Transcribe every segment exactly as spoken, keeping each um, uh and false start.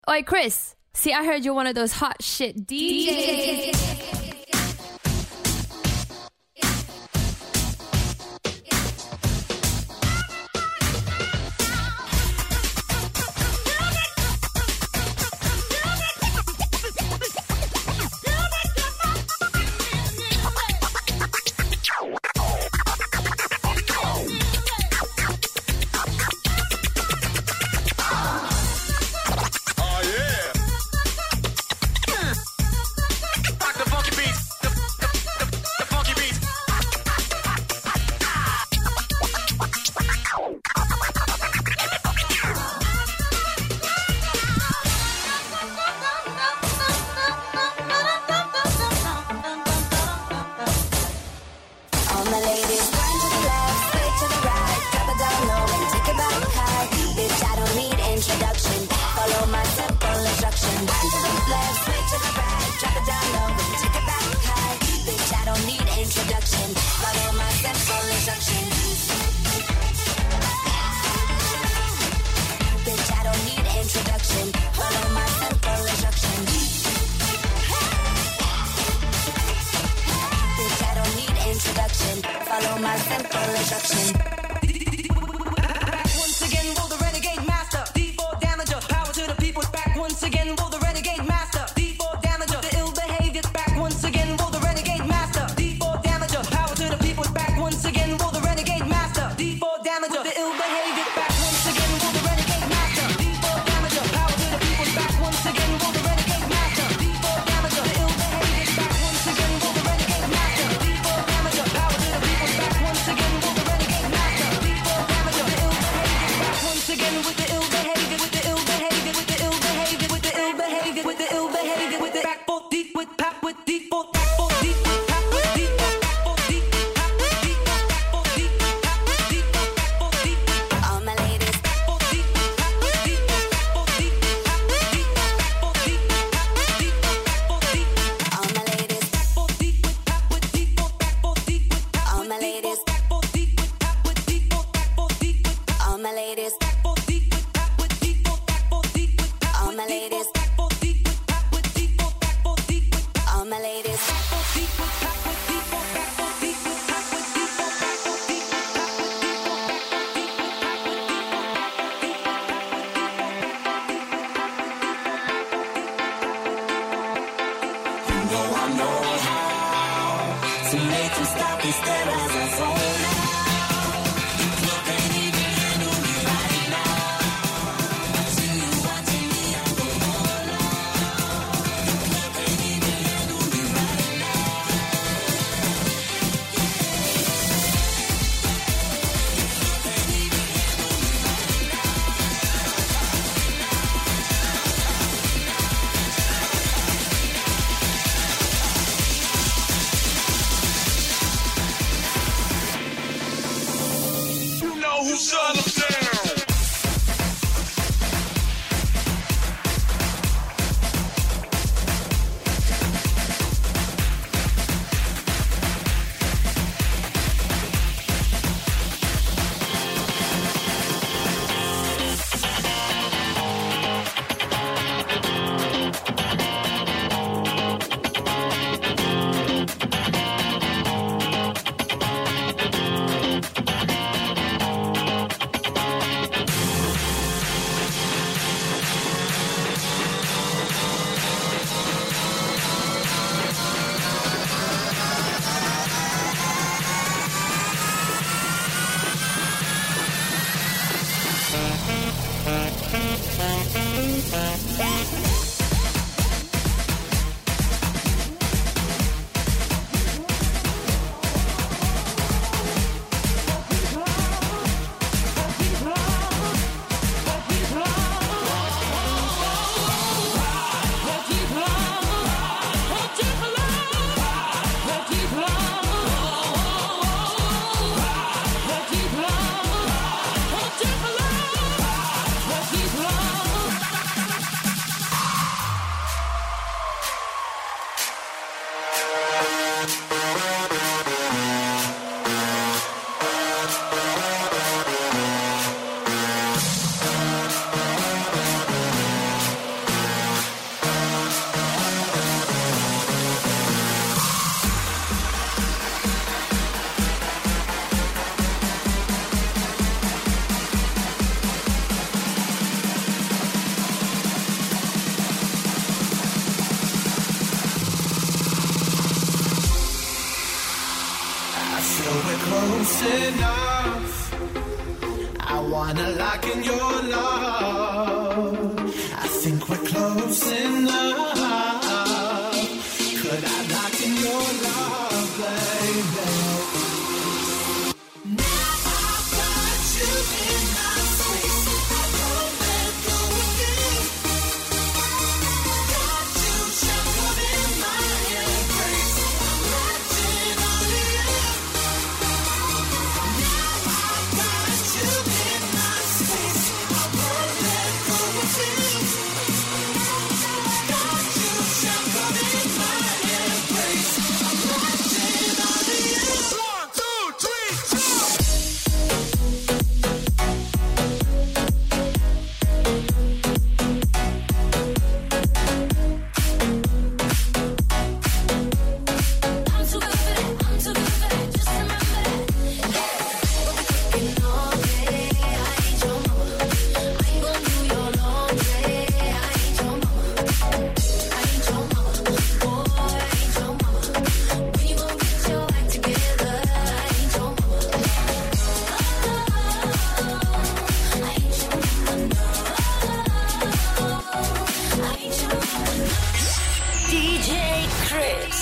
Oi, Chris. See, I heard you're one of those hot shit D Js. close enough. I wanna lock in your love. I think we're close enough. Could I lock in your love, baby? Now I've got you in my space. I won't let go of you. Got you shackled in my embrace. I'm latching on to you. Now I've got you in my space. I won't let go of you. Got you shackled in my embrace. I'm latching on to you. One, two, three, four. I'm too good for that. I'm too good for that. Just remember that. Yeah. Working all day. I ain't your mama. I ain't gon' do your laundry. I ain't your mama. I ain't your mama. Boy, I ain't your mama. When you gon' get your act together? I ain't your mama. Oh, I ain't your mama. No. I ain't your mama. D J Chris.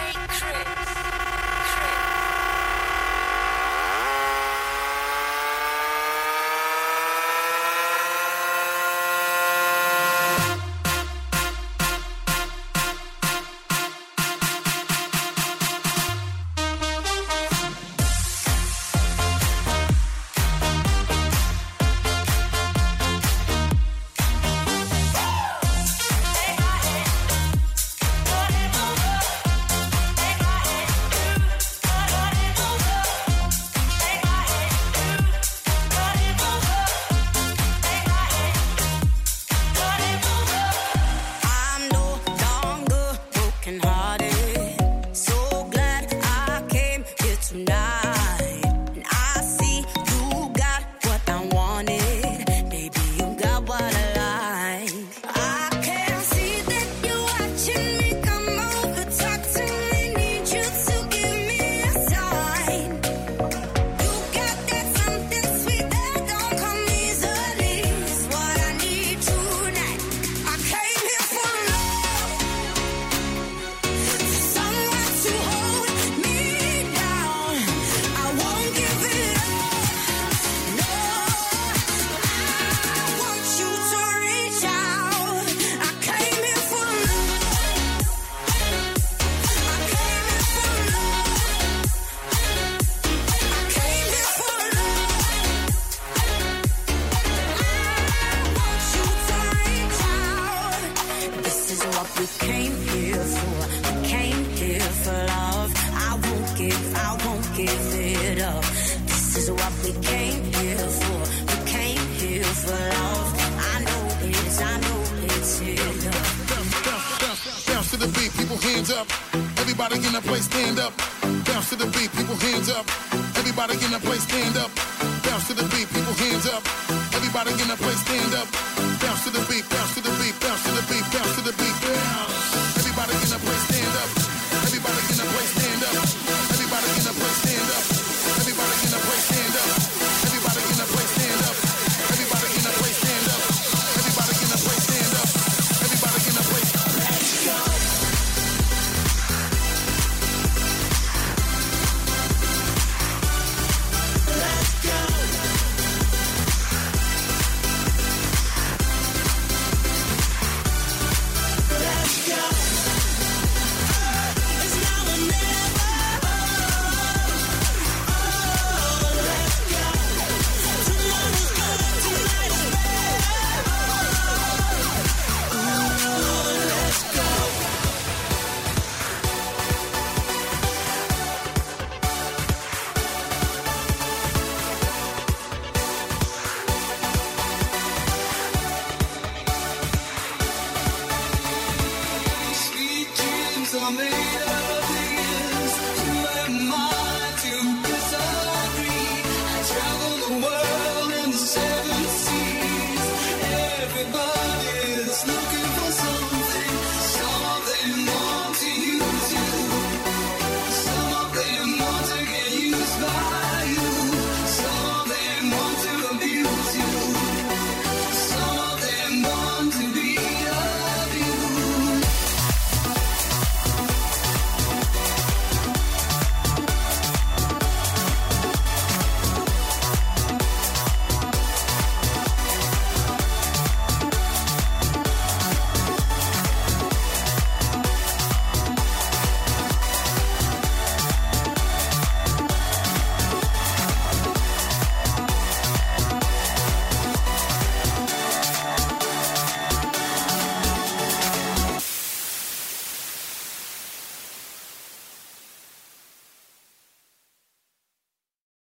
I'm no longer brokenhearted. So glad I came here tonight. And I see you got what I wanted. Baby, you got what I like. I can see that you're watching me. Come over, talk to me. Need you to give me a sign. You got that something sweet that don't come easily. It's what I need tonight. I came here for love, someone to hold me down. I won't give it up. No, I want you to reach out. I came here for love. I came here for love. I came here for love. I want you to reach out. This is what we came here for. We came here for love. I won't give, I won't give it up. This is what we came here for. We came here for love. I know it's, I know it's here. Bounce to the beat, people hands up. Everybody in the place stand up. Bounce to the beat, people hands up. Everybody in the place stand up. Bounce to the beat, people hands up. Everybody in the place stand up. Bounce to the beat, bounce to the beat, bounce to the beat.